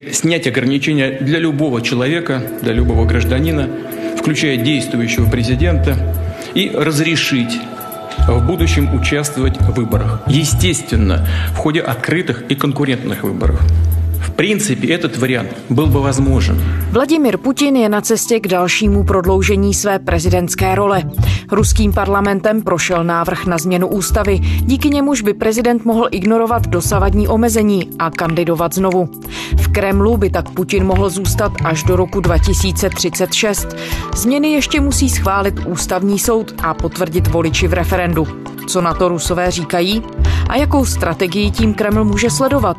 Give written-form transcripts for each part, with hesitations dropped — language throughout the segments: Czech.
Снять ограничения для любого человека, для любого гражданина, включая действующего президента, и разрешить в будущем участвовать в выборах. Естественно, в ходе открытых и конкурентных выборов. В принципе, этот вариант был бы возможен. Vladimir Putin je na cestě k dalšímu prodloužení své prezidentské role. Ruským parlamentem prošel návrh na změnu ústavy, díky němuž by prezident mohl ignorovat dosavadní omezení a kandidovat znovu. V Kremlu by tak Putin mohl zůstat až do roku 2036. Změny ještě musí schválit ústavní soud a potvrdit voliči v referendu. Co na to Rusové říkají? A jakou strategii tím Kreml může sledovat?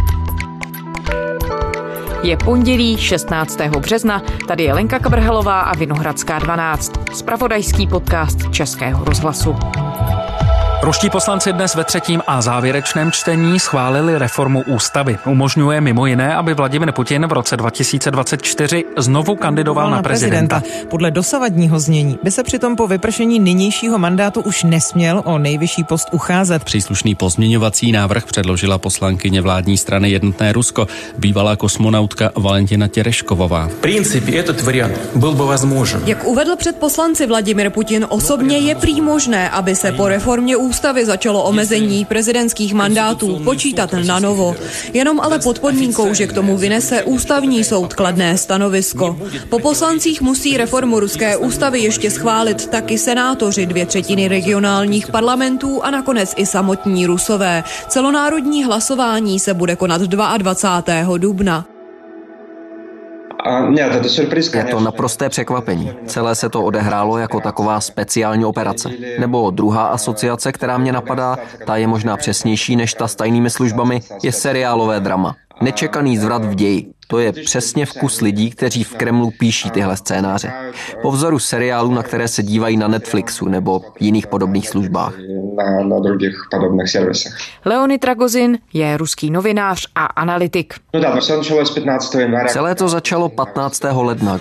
Je pondělí 16. března, tady je Lenka Kabrhelová a Vinohradská 12, zpravodajský podcast Českého rozhlasu. Ruští poslanci dnes ve třetím a závěrečném čtení schválili reformu ústavy. Umožňuje mimo jiné, aby Vladimir Putin v roce 2024 znovu kandidoval na prezidenta. Podle dosavadního znění by se přitom po vypršení nynějšího mandátu už nesměl o nejvyšší post ucházet. Příslušný pozměňovací návrh předložila poslankyně vládní strany Jednotné Rusko, bývalá kosmonautka Valentina Tereškovová. V принципе, этот вариант byl by возможен. Jak uvedl před poslanci Vladimir Putin osobně, je prý možné, aby se po reformě ústavy začalo omezení prezidentských mandátů počítat na novo. Jenom ale pod podmínkou, že k tomu vynese ústavní soud kladné stanovisko. Po poslancích musí reformu ruské ústavy ještě schválit taky senátoři 2/3 regionálních parlamentů a nakonec i samotní Rusové. Celonárodní hlasování se bude konat 22. dubna. Je to naprosté překvapení. Celé se to odehrálo jako taková speciální operace. Nebo druhá asociace, která mě napadá, ta je možná přesnější než ta s tajnými službami, je seriálové drama. Nečekaný zvrat v ději. To je přesně vkus lidí, kteří v Kremlu píší tyhle scénáře. Po vzoru seriálů, na které se dívají na Netflixu nebo jiných podobných službách. Leonid Ragozin je ruský novinář a analytik. Celé to začalo 15. ledna.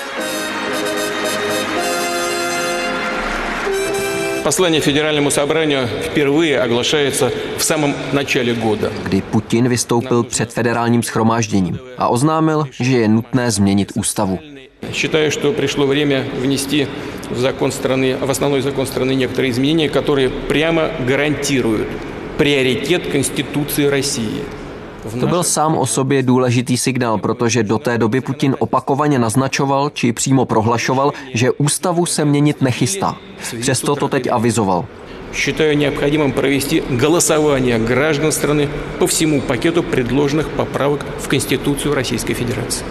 Послание Федеральному собранию впервые оглашается в самом начале года. Kdy Putin vystoupil před federálním shromážděním a oznámil, že je nutné změnit ústavu. Считаю, что пришло время внести в основной закон страны некоторые изменения, которые прямо гарантируют приоритет Конституции России. To byl sám o sobě důležitý signál, protože do té doby Putin opakovaně naznačoval či přímo prohlašoval, že ústavu se měnit nechystá. Přesto to teď avizoval. Считаю необходимым провести голосование граждан страны по всему пакету предложенных поправок в Конституцию Российской Федерации.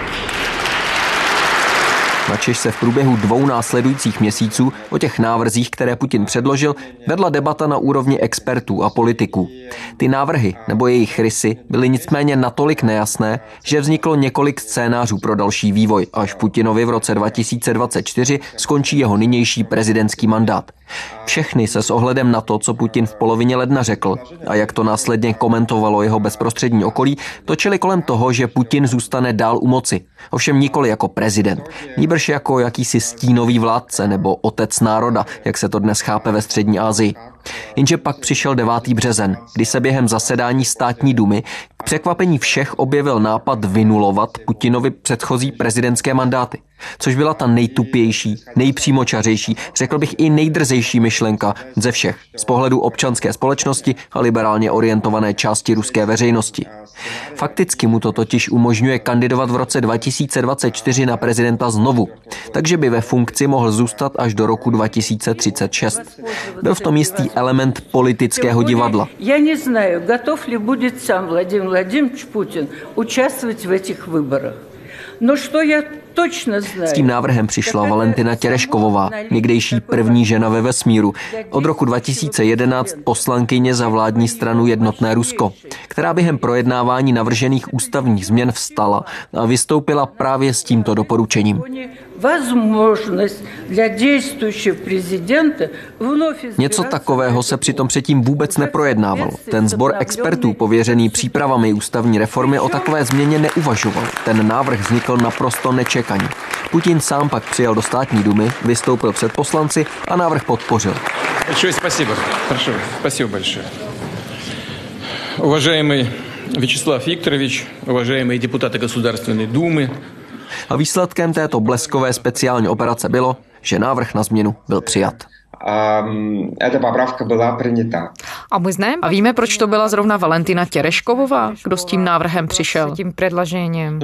Načež se v průběhu 2 následujících měsíců o těch návrzích, které Putin předložil, vedla debata na úrovni expertů a politiků. Ty návrhy nebo jejich rysy byly nicméně natolik nejasné, že vzniklo několik scénářů pro další vývoj, až Putinovi v roce 2024 skončí jeho nynější prezidentský mandát. Všechny se s ohledem na to, co Putin v polovině ledna řekl a jak to následně komentovalo jeho bezprostřední okolí, točili kolem toho, že Putin zůstane dál u moci. Ovšem nikoli jako prezident, nýbrž jako jakýsi stínový vládce nebo otec národa, jak se to dnes chápe ve střední Asii. Jenže pak přišel 9. březen, kdy se během zasedání státní dumy k překvapení všech objevil nápad vynulovat Putinovi předchozí prezidentské mandáty, což byla ta nejtupější, nejpřímočařejší, řekl bych i nejdrzejší myšlenka ze všech z pohledu občanské společnosti a liberálně orientované části ruské veřejnosti. Fakticky mu to totiž umožňuje kandidovat v roce 2024 na prezidenta znovu, takže by ve funkci mohl zůstat až do roku 2036. Byl v tom jistý element politického divadla. Já neznаю, готов ли будет сам Владимир Владимирович Путин участвовать в этих выборах. No, что я точно знаю. S tím návrhem přišla Valentina Tereškovová, někdejší první žena ve vesmíru, od roku 2011 poslankyně za vládní stranu Jednotné Rusko, která během projednávání navržených ústavních změn vstala a vystoupila právě s tímto doporučením. Něco takového se přitom předtím vůbec neprojednávalo. Ten sbor expertů pověřený přípravami ústavní reformy o takové změně neuvažoval. Ten návrh vznikl naprosto nečekaně. Putin sám pak přijel do státní dumy, vystoupil před poslanci a návrh podpořil. Большое спасибо. Прошу, спасибо большое. Уважаемый Vyacheslav Viktorovich, уважаемые депутаты Государственной Думы. A výsledkem této bleskové speciální operace bylo, že návrh na změnu byl přijat. A víme, proč to byla zrovna Valentina Tereškovová, kdo s tím návrhem přišel, tím předložením?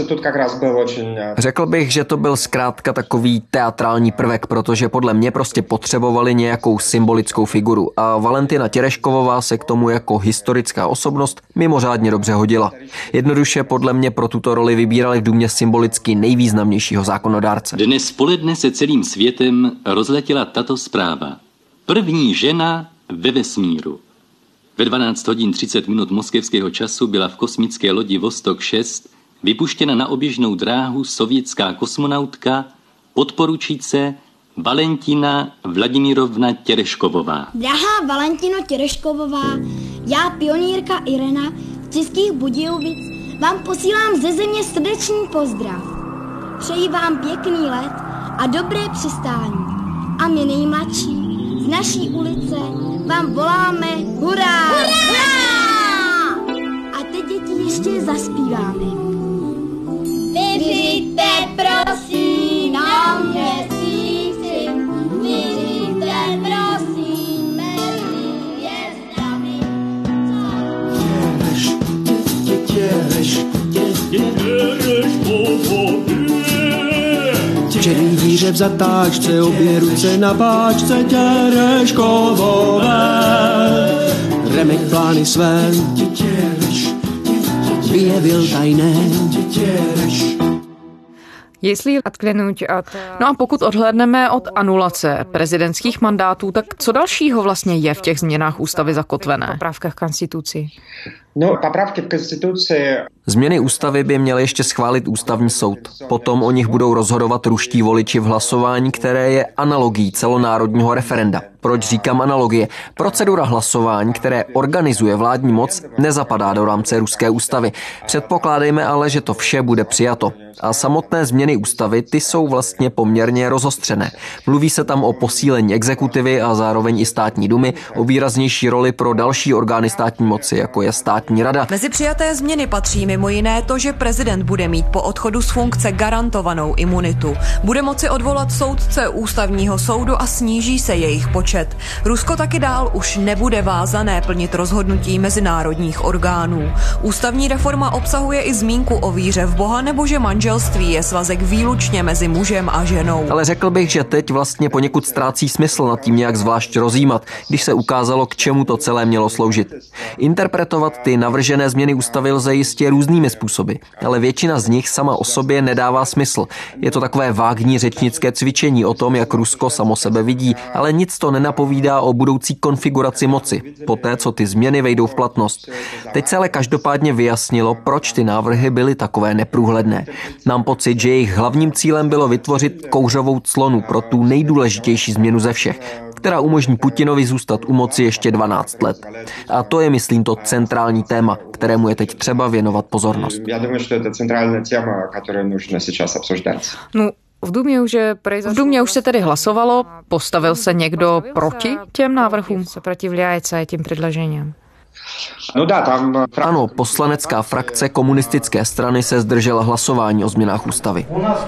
Řekl bych, že to byl zkrátka takový teatrální prvek, protože podle mě prostě potřebovali nějakou symbolickou figuru a Valentina Tereškovová se k tomu jako historická osobnost mimořádně dobře hodila. Jednoduše podle mě pro tuto roli vybírali v Dumě symbolicky nejvýznamnějšího zákonodárce. Dnes poledne se celým světem rozletěla tato zpráva. První žena ve vesmíru. Ve 12 hodin 30 minut moskevského času byla v kosmické lodi Vostok 6 vypuštěna na oběžnou dráhu sovětská kosmonautka podporučíce Valentina Vladimirovna Tereškovová. Drahá Valentino Tereškovová, já pionýrka Irena z Českých Budějovic vám posílám ze země srdečný pozdrav. Přeji vám pěkný let a dobré přistání. A my nejmladší z naší ulice vám voláme hurá! Hurá! A teď děti ještě zaspíváme. Vyřiďte prosím na měsíci, vyřiďte prosím mezi hvězdami. Černý díře v zatáčce, obě ruce na páčce Tereškovové. Remek plány své vyjevil tajné. No a pokud odhlédneme od anulace prezidentských mandátů, tak co dalšího vlastně je v těch změnách ústavy zakotvené? Popravkách konstituci. No, popravky v konstituci. Změny ústavy by měl ještě schválit ústavní soud. Potom o nich budou rozhodovat ruští voliči v hlasování, které je analogií celonárodního referenda. Proč říkám analogie? Procedura hlasování, které organizuje vládní moc, nezapadá do rámce ruské ústavy. Předpokládejme ale, že to vše bude přijato. A samotné změny ústavy, ty jsou vlastně poměrně rozostřené. Mluví se tam o posílení exekutivy a zároveň i státní dumy, o výraznější roli pro další orgány státní moci, jako je státní rada. Mezi přijaté změny patří mimo jiné to, že prezident bude mít po odchodu z funkce garantovanou imunitu. Bude moci odvolat soudce ústavního soudu a sníží se jejich počet. Rusko taky dál už nebude vázané plnit rozhodnutí mezinárodních orgánů. Ústavní reforma obsahuje i zmínku o víře v Boha nebo že manželství je svazek výlučně mezi mužem a ženou. Ale řekl bych, že teď vlastně poněkud ztrácí smysl nad tím nějak zvlášť rozjímat, když se ukázalo, k čemu to celé mělo sloužit. Interpretovat ty navržené změny ústavy lze jistě různými způsoby, ale většina z nich sama o sobě nedává smysl. Je to takové vágní řečnické cvičení o tom, jak Rusko samo sebe vidí, ale nic to nenapovídá o budoucí konfiguraci moci, poté co ty změny vejdou v platnost. Teď se ale každopádně vyjasnilo, proč ty návrhy byly takové neprůhledné. Mám pocit, že jejich hlavním cílem bylo vytvořit kouřovou clonu pro tu nejdůležitější změnu ze všech, která umožní Putinovi zůstat u moci ještě 12 let. A to je, myslím, to centrální téma, kterému je teď třeba věnovat pozornost. Já думаю, že to je centrální téma, které nutno сейчас obsouždat. No, v Dumě už se tedy hlasovalo, postavil se někdo proti těm návrhům? Сопротивляется tím předložením. Ano, poslanecká frakce komunistické strany se zdržela hlasování o změnách ústavy.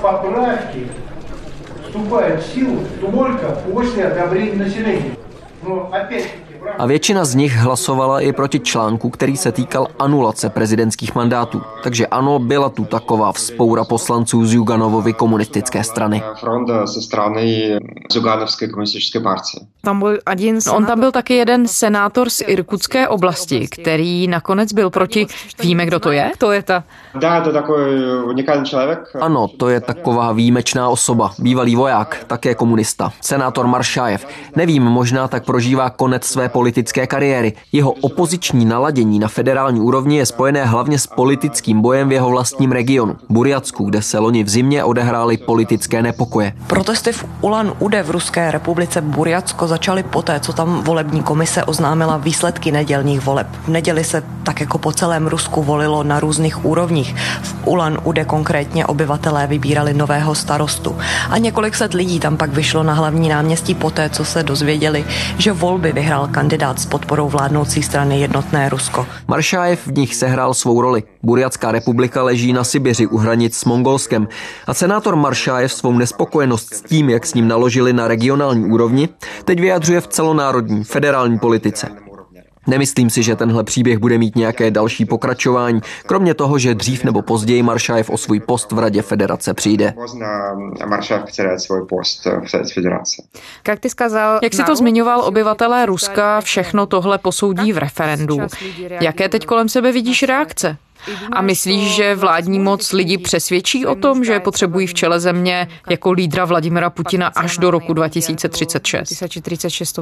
A většina z nich hlasovala i proti článku, který se týkal anulace prezidentských mandátů. Takže ano, byla tu taková vzpoura poslanců z Juganovovy komunistické strany. Fronta ze strany Zuganovské komunistické partie. On tam byl taky jeden senátor z Irkutské oblasti, který nakonec byl proti. Víme, kdo to je? To je ta... To takový unikální člověk. Ano, to je taková výjimečná osoba. Bývalý voják, také komunista. Senátor Maršájev. Nevím, možná tak prožívá konec své politické kariéry. Jeho opoziční naladění na federální úrovni je spojené hlavně s politickým bojem v jeho vlastním regionu, Burjatsku, kde se loni v zimě odehrály politické nepokoje. Protesty v Ulan-Ude v Ruské republice Burjatsko začaly poté, co tam volební komise oznámila výsledky nedělních voleb. V neděli se tak jako po celém Rusku volilo na různých úrovních. V Ulan-Ude konkrétně obyvatelé vybírali nového starostu. A několik set lidí tam pak vyšlo na hlavní náměstí poté, co se dozvěděli, že volby vyhrál kandidát kandidát s podporou vládnoucí strany Jednotné Rusko. Maršájev v nich sehrál svou roli. Burjatská republika leží na Sibiři u hranic s Mongolskem a senátor Maršájev svou nespokojenost s tím, jak s ním naložili na regionální úrovni, teď vyjadřuje v celonárodní federální politice. Nemyslím si, že tenhle příběh bude mít nějaké další pokračování, kromě toho, že dřív nebo později Maršájev o svůj post v Radě federace přijde. Jak si to zmiňoval, obyvatelé Ruska všechno tohle posoudí v referendu. Jaké teď kolem sebe vidíš reakce? A myslíš, že vládní moc lidi přesvědčí o tom, že potřebují v čele země jako lídra Vladimira Putina až do roku 2036?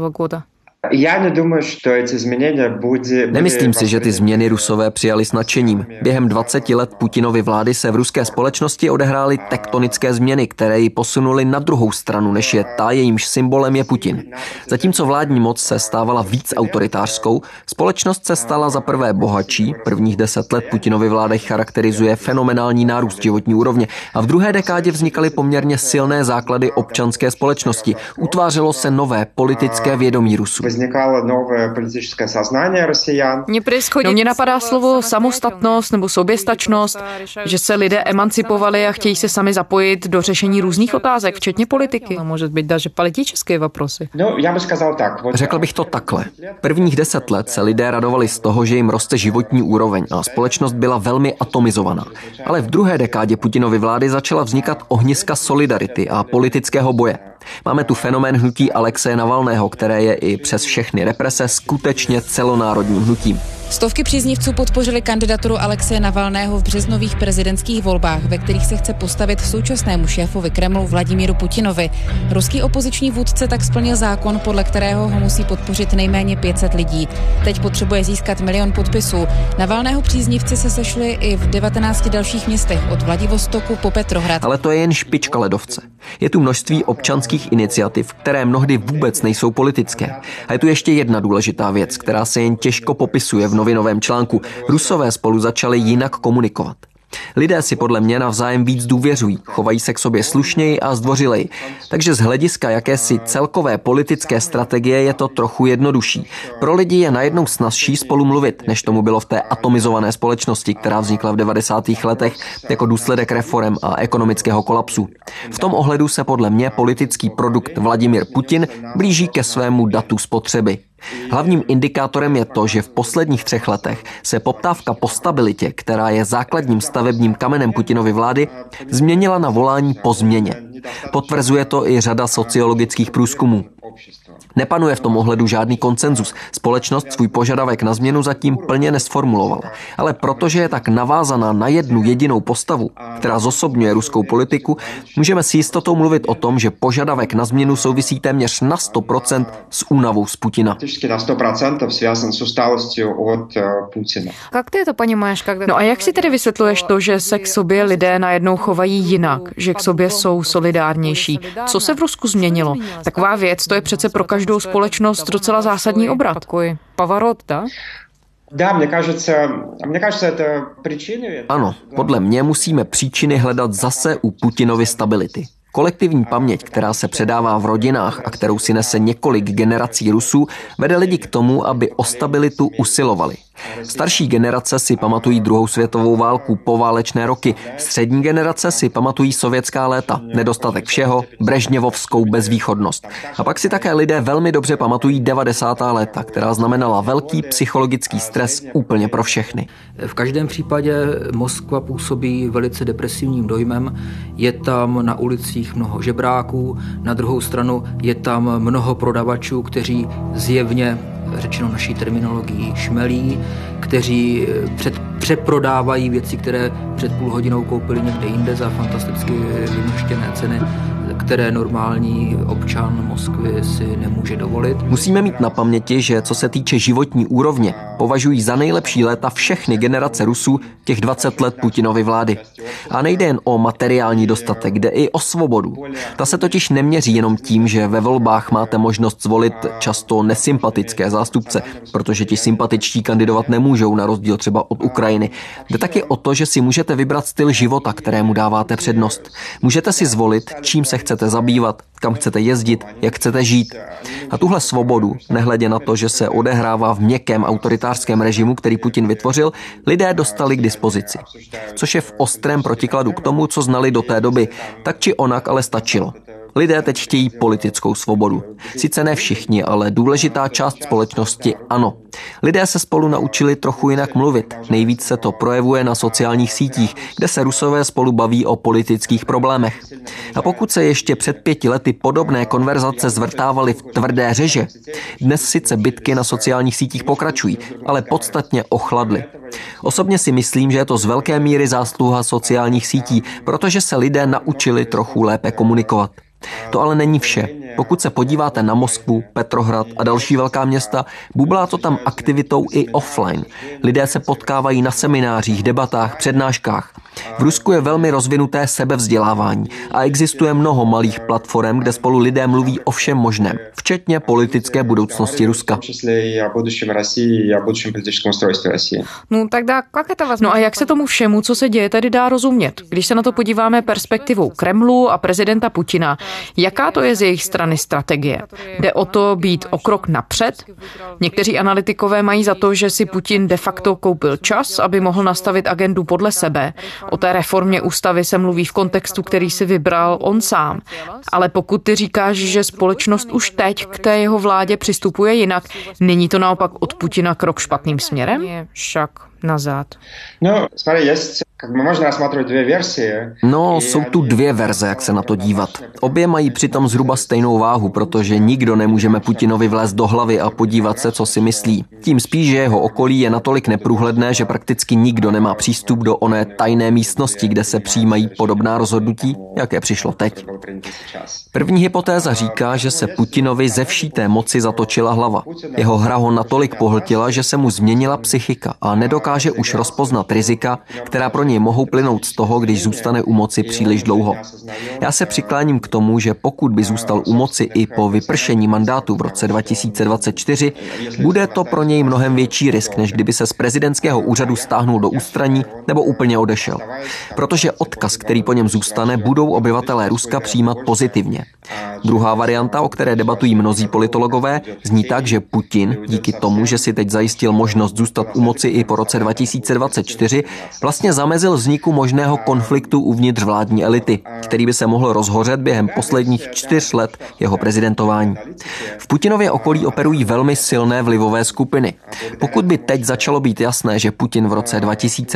Nemyslím si, že ty změny Rusové přijali s nadšením. Během 20 let Putinovy vlády se v ruské společnosti odehrály tektonické změny, které ji posunuly na druhou stranu, než je ta, jejímž symbolem je Putin. Zatímco vládní moc se stávala víc autoritářskou, společnost se stala za prvé bohatší, prvních 10 let Putinovy vlády charakterizuje fenomenální nárůst životní úrovně a v druhé dekádě vznikaly poměrně silné základy občanské společnosti. Utvářelo se nové politické vědomí Rusů. Mně napadá slovo samostatnost nebo soběstačnost, že se lidé emancipovali a chtějí se sami zapojit do řešení různých otázek, včetně politiky. A může být даже politické vопросы. Řekl bych to takhle. Prvních 10 let se lidé radovali z toho, že jim roste životní úroveň a společnost byla velmi atomizovaná. Ale v druhé dekádě Putinovy vlády začala vznikat ohniska solidarity a politického boje. Máme tu fenomén hnutí Alexeje Navalného, které je i přes všechny represe skutečně celonárodním hnutím. Stovky příznivců podpořili kandidaturu Alexeje Navalného v březnových prezidentských volbách, ve kterých se chce postavit současnému šéfovi Kremlu Vladimíru Putinovi. Ruský opoziční vůdce tak splnil zákon, podle kterého ho musí podpořit nejméně 500 lidí. Teď potřebuje získat 1 000 000 podpisů. Navalného příznivci se sešli i v 19 dalších městech od Vladivostoku po Petrohrad. Ale to je jen špička ledovce. Je tu množství občanských iniciativ, které mnohdy vůbec nejsou politické. A je tu ještě jedna důležitá věc, která se jen těžko popisuje v novinovém článku. Rusové spolu začali jinak komunikovat. Lidé si podle mě navzájem víc důvěřují, chovají se k sobě slušněji a zdvořileji. Takže z hlediska jakési celkové politické strategie je to trochu jednodušší. Pro lidi je najednou snazší spolu mluvit, než tomu bylo v té atomizované společnosti, která vznikla v 90. letech jako důsledek reforem a ekonomického kolapsu. V tom ohledu se podle mě politický produkt Vladimír Putin blíží ke svému datu spotřeby. Hlavním indikátorem je to, že v posledních 3 letech se poptávka po stabilitě, která je základním stavebním kamenem Putinovy vlády, změnila na volání po změně. Potvrzuje to i řada sociologických průzkumů. Nepanuje v tom ohledu žádný konsenzus. Společnost svůj požadavek na změnu zatím plně nesformulovala. Ale protože je tak navázaná na jednu jedinou postavu, která zosobňuje ruskou politiku, můžeme s jistotou mluvit o tom, že požadavek na změnu souvisí téměř na 100% s únavou z Putina. No a jak si tedy vysvětluješ to, že se k sobě lidé najednou chovají jinak, že k sobě jsou solidárnější? Co se v Rusku změnilo? Taková věc, to je přece pro každou společnost docela zásadní obrat. Pavarot, da? Ano, podle mě musíme příčiny hledat zase u Putinovy stability. Kolektivní paměť, která se předává v rodinách a kterou si nese několik generací Rusů, vede lidi k tomu, aby o stabilitu usilovali. Starší generace si pamatují 2. světovou válku, poválečné roky. Střední generace si pamatují sovětská léta, nedostatek všeho, brežněvovskou bezvýchodnost. A pak si také lidé velmi dobře pamatují 90. léta, která znamenala velký psychologický stres úplně pro všechny. V každém případě Moskva působí velice depresivním dojmem. Je tam na ulicích mnoho žebráků, na druhou stranu je tam mnoho prodavačů, kteří zjevně, řečeno naší terminologií, šmelí, kteří přeprodávají věci, které před půl hodinou koupili někde jinde za fantasticky vymrštěné ceny, které normální občan Moskvy si nemůže dovolit. Musíme mít na paměti, že co se týče životní úrovně, považují za nejlepší léta všechny generace Rusů těch 20 let Putinovy vlády. A nejde jen o materiální dostatek, jde i o svobodu. Ta se totiž neměří jenom tím, že ve volbách máte možnost zvolit často nesympatické zástupce, protože ti sympatičtí kandidovat nemůžou, na rozdíl třeba od Ukrajiny. Jde taky o to, že si můžete vybrat styl života, kterému dáváte přednost. Můžete si zvolit, čím se chcete zabývat, kam chcete jezdit, jak chcete žít. A tuhle svobodu, nehledě na to, že se odehrává v měkkém autoritářském režimu, který Putin vytvořil, lidé dostali k dispozici. Což je v ostrém protikladu k tomu, co znali do té doby. Tak či onak, ale stačilo. Lidé teď chtějí politickou svobodu. Sice ne všichni, ale důležitá část společnosti ano. Lidé se spolu naučili trochu jinak mluvit. Nejvíc se to projevuje na sociálních sítích, kde se Rusové spolu baví o politických problémech. A pokud se ještě před 5 lety podobné konverzace zvrtávaly v tvrdé řeže, dnes sice bitky na sociálních sítích pokračují, ale podstatně ochladly. Osobně si myslím, že je to z velké míry zásluha sociálních sítí, protože se lidé naučili trochu lépe komunikovat. To ale není vše. Pokud se podíváte na Moskvu, Petrohrad a další velká města, bublá to tam aktivitou i offline. Lidé se potkávají na seminářích, debatách, přednáškách. V Rusku je velmi rozvinuté sebevzdělávání a existuje mnoho malých platform, kde spolu lidé mluví o všem možném, včetně politické budoucnosti Ruska. No a jak se tomu všemu, co se děje, tedy dá rozumět? Když se na to podíváme perspektivou Kremlu a prezidenta Putina, jaká to je z jejich strany strategie? Jde o to být o krok napřed? Někteří analytikové mají za to, že si Putin de facto koupil čas, aby mohl nastavit agendu podle sebe. O té reformě ústavy se mluví v kontextu, který si vybral on sám. Ale pokud ty říkáš, že společnost už teď k té jeho vládě přistupuje jinak, není to naopak od Putina krok špatným směrem? Však nazad. No, jsou tu 2 verze, jak se na to dívat. Obě mají přitom zhruba stejnou váhu, protože nikdo nemůžeme Putinovi vlézt do hlavy a podívat se, co si myslí. Tím spíš, že jeho okolí je natolik neprůhledné, že prakticky nikdo nemá přístup do oné tajné místnosti, kde se přijímají podobná rozhodnutí, jaké přišlo teď. První hypotéza říká, že se Putinovi ze vší té moci zatočila hlava. Jeho hra ho natolik pohltila, že se mu změnila psychika a nedokáže už rozpoznat rizika, která pro něj mohou plynout z toho, když zůstane u moci příliš dlouho. Já se přikláním k tomu, že pokud by zůstal u moci i po vypršení mandátu v roce 2024, bude to pro něj mnohem větší risk, než kdyby se z prezidentského úřadu stáhnul do ústraní nebo úplně odešel. Protože odkaz, který po něm zůstane, budou obyvatelé Ruska přijímat pozitivně. Druhá varianta, o které debatují mnozí politologové, zní tak, že Putin, díky tomu, že si teď zajistil možnost zůstat u moci i po roce 2024, vlastně zamezil vzniku možného konfliktu uvnitř vládní elity, který by se mohl rozhořet během posledních 4 let jeho prezidentování. V Putinově okolí operují velmi silné vlivové skupiny. Pokud by teď začalo být jasné, že Putin v roce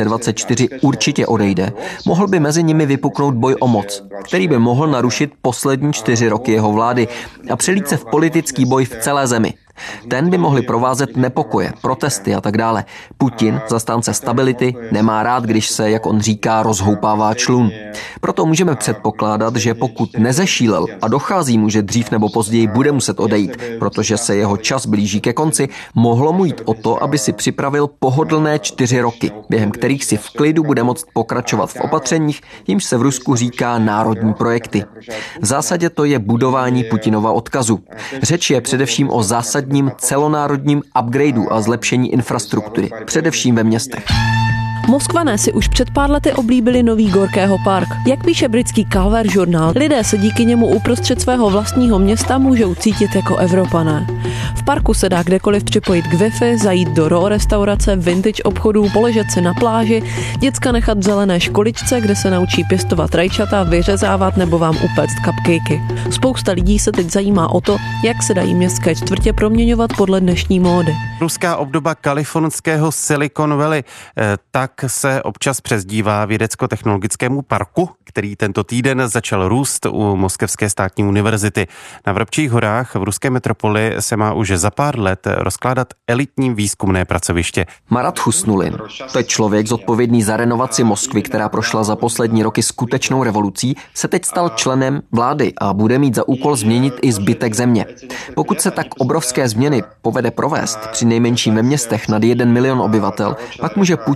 2024 určitě odejde, mohl by mezi nimi vypuknout boj o moc, který by mohl narušit poslední 4 roky jeho vlády a přelít se v politický boj v celé zemi. Ten by mohli provázet nepokoje, protesty a tak dále. Putin, zastánce stability, nemá rád, když se, jak on říká, rozhoupává člun. Proto můžeme předpokládat, že pokud nezešílel a dochází mu, že dřív nebo později bude muset odejít, protože se jeho čas blíží ke konci, mohlo mu jít o to, aby si připravil pohodlné 4 roky, během kterých si v klidu bude moct pokračovat v opatřeních, jimž se v Rusku říká národní projekty. V zásadě to je budování Putinova odkazu. Řeč je především o zásadním celonárodním upgradeu a zlepšení infrastruktury, především ve městech. Moskvané si už před pár lety oblíbili nový Gorkého park. Jak píše britský Calver žurnál, lidé se díky němu uprostřed svého vlastního města můžou cítit jako Evropané. V parku se dá kdekoliv připojit k Wi-Fi, zajít do raw restaurace, vintage obchodů, poležet si na pláži, děcka nechat v zelené školičce, kde se naučí pěstovat rajčata, vyřezávat nebo vám upéct cupcakey. Spousta lidí se teď zajímá o to, jak se dají městské čtvrtě proměňovat podle dnešní módy. Ruská obdoba kalifornského Silicon Valley, tak se občas přezdívá vědecko-technologickému parku, který tento týden začal růst u Moskevské státní univerzity. Na Vrabčích horách v ruské metropoli se má už za pár let rozkládat elitní výzkumné pracoviště. Marat Husnulin, to je člověk zodpovědný za renovaci Moskvy, která prošla za poslední roky skutečnou revolucí, se teď stal členem vlády a bude mít za úkol změnit i zbytek země. Pokud se tak obrovské změny povede provést, při nejmenším ve městech nad 1 milion obyvatel, pak může Putin v roce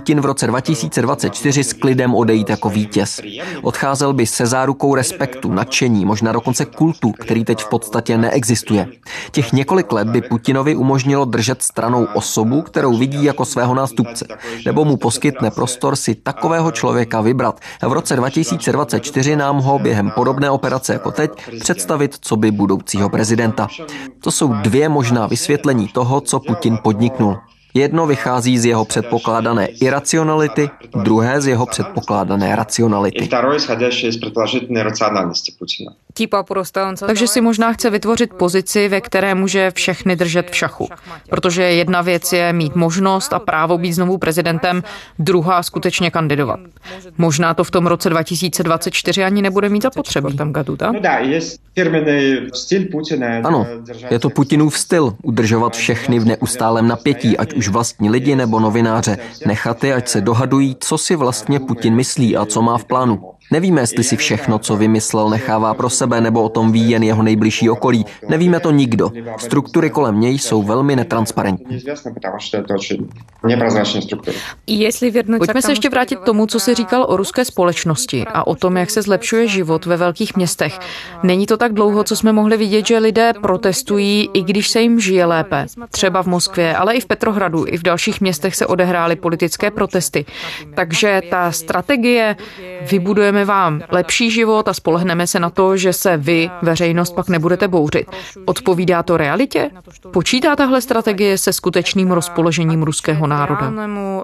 2024 s klidem odejít jako vítěz. Odcházel by se zárukou respektu, nadšení, možná dokonce kultu, který teď v podstatě neexistuje. Těch několik let by Putinovi umožnilo držet stranou osobu, kterou vidí jako svého nástupce, nebo mu poskytne prostor si takového člověka vybrat a v roce 2024 nám ho během podobné operace jako teď představit coby budoucího prezidenta. To jsou dvě možná vysvětlení toho, co Putin podniknul. Jedno vychází z jeho předpokládané iracionality, druhé z jeho předpokládané racionality. Takže si možná chce vytvořit pozici, ve které může všechny držet v šachu. Protože jedna věc je mít možnost a právo být znovu prezidentem, druhá skutečně kandidovat. Možná to v tom roce 2024 ani nebude mít zapotřebí. Ano, je to Putinův styl udržovat všechny v neustálém napětí, ať už vlastní lidi nebo novináře, nechat je, ať se dohadují, co si vlastně Putin myslí a co má v plánu. Nevíme, jestli si všechno, co vymyslel, nechává pro sebe, nebo o tom ví jen jeho nejbližší okolí. Nevíme to nikdo. Struktury kolem něj jsou velmi netransparentní. Pojďme se ještě vrátit k tomu, co jsi říkal o ruské společnosti a o tom, jak se zlepšuje život ve velkých městech. Není to tak dlouho, co jsme mohli vidět, že lidé protestují, i když se jim žije lépe. Třeba v Moskvě, ale i v Petrohradu, i v dalších městech se odehrály politické protesty. Takže ta strategie vybudujeme vám lepší život a spolehneme se na to, že se vy, veřejnost, pak nebudete bouřit. Odpovídá to realitě? Počítá tahle strategie se skutečným rozpoložením ruského národa?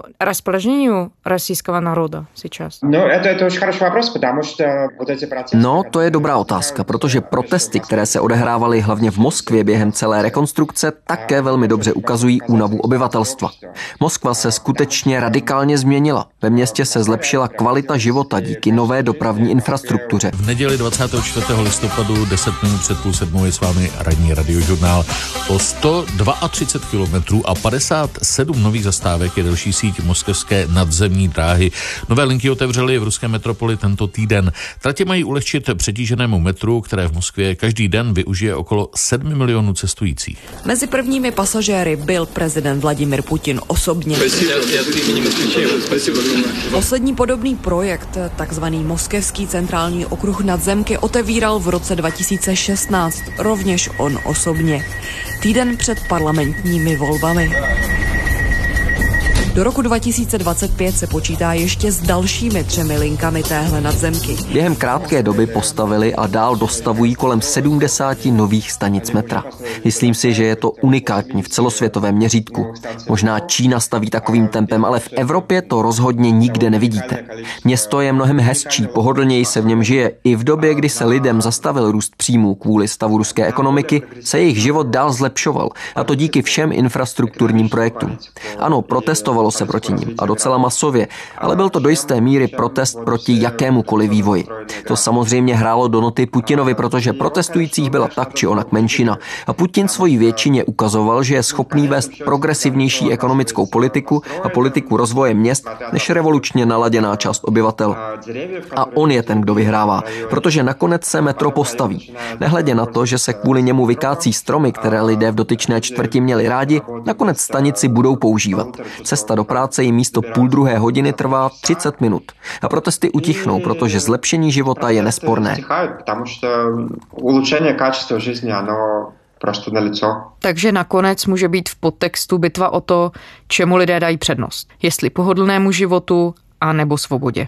No, to je dobrá otázka, protože protesty, které se odehrávaly hlavně v Moskvě během celé rekonstrukce, také velmi dobře ukazují únavu obyvatelstva. Moskva se skutečně radikálně změnila. Ve městě se zlepšila kvalita života díky nové dopravní infrastruktuře. V neděli 24. listopadu 10 minut před 6:30 je s vámi ranní radiožurnál. O 132 kilometrů a 57 nových zastávek je další síť moskevské nadzemní dráhy. Nové linky otevřely v ruské metropoli tento týden. Tratě mají ulehčit přetíženému metru, které v Moskvě každý den využije okolo 7 milionů cestujících. Mezi prvními pasažéry byl prezident Vladimir Putin osobně. Poslední podobný projekt, takzvaný Moskevský centrální okruh nadzemky, otevíral v roce 2016, rovněž on osobně. Týden před parlamentními volbami. Do roku 2025 se počítá ještě s dalšími 3 linkami téhle nadzemky. Během krátké doby postavili a dál dostavují kolem 70 nových stanic metra. Myslím si, že je to unikátní v celosvětovém měřítku. Možná Čína staví takovým tempem, ale v Evropě to rozhodně nikde nevidíte. Město je mnohem hezčí, pohodlněji se v něm žije. I v době, kdy se lidem zastavil růst příjmů kvůli stavu ruské ekonomiky, se jejich život dál zlepšoval. A to díky všem infrastrukturním projektům. Ano, protestovalo se proti nim a docela masově, ale byl to do jisté míry protest proti jakémukoliv vývoji. To samozřejmě hrálo do noty Putinovi, protože protestujících byla tak či onak menšina. A Putin svojí většině ukazoval, že je schopný vést progresivnější ekonomickou politiku a politiku rozvoje měst než revolučně naladěná část obyvatel. A on je ten, kdo vyhrává, protože nakonec se metro postaví. Nehledě na to, že se kvůli němu vykácí stromy, které lidé v dotyčné čtvrti měli rádi, nakonec stanici budou používat. Cesta do práce jim místo 1,5 hodiny trvá 30 minut. A protesty utichnou, protože zlepšení života je nesporné. Takže nakonec může být v podtextu bitva o to, čemu lidé dají přednost. Jestli pohodlnému životu, a nebo svobodě.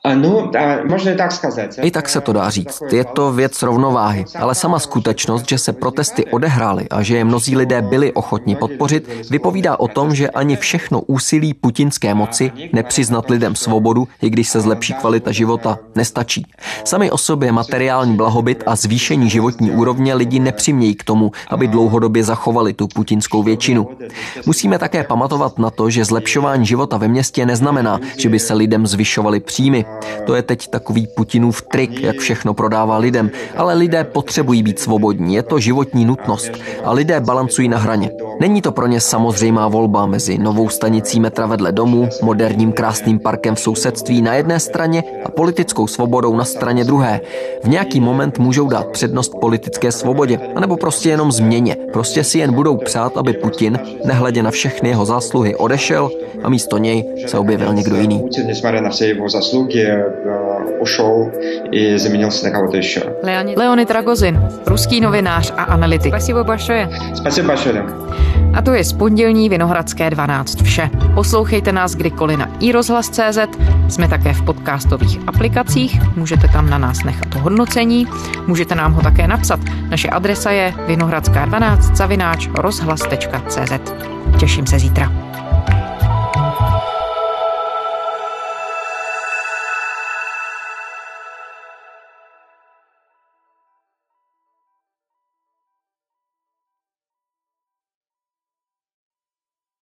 I tak se to dá říct. Je to věc rovnováhy, ale sama skutečnost, že se protesty odehrály a že je mnozí lidé byli ochotni podpořit, vypovídá o tom, že ani všechno úsilí putinské moci nepřiznat lidem svobodu, i když se zlepší kvalita života, nestačí. Sami o sobě materiální blahobyt a zvýšení životní úrovně lidi nepřimějí k tomu, aby dlouhodobě zachovali tu putinskou většinu. Musíme také pamatovat na to, že zlepšování života ve městě neznamená, že by se lidem zvyšovaly příjmy. To je teď takový Putinův trik, jak všechno prodává lidem, ale lidé potřebují být svobodní, je to životní nutnost a lidé balancují na hraně. Není to pro ně samozřejmá volba mezi novou stanicí metra vedle domu, moderním krásným parkem v sousedství na jedné straně a politickou svobodou na straně druhé. V nějaký moment můžou dát přednost politické svobodě, anebo prostě jenom změně. Prostě si jen budou přát, aby Putin, nehledě na všechny jeho zásluhy, odešel a místo něj se objevil někdo jiný. Putin, nесмотря на все его заслуги, ушел и заменился на кого-то еще. Leonid Ragozin, ruský novinář a analytik. Spasibo большое. Спасибо большое. A to je z pondělní Vinohradské 12 vše. Poslouchejte nás kdykoliv na iRozhlas.cz, jsme také v podcastových aplikacích, můžete tam na nás nechat hodnocení, můžete nám ho také napsat. Naše adresa je vinohradská12@rozhlas.cz. Těším se zítra.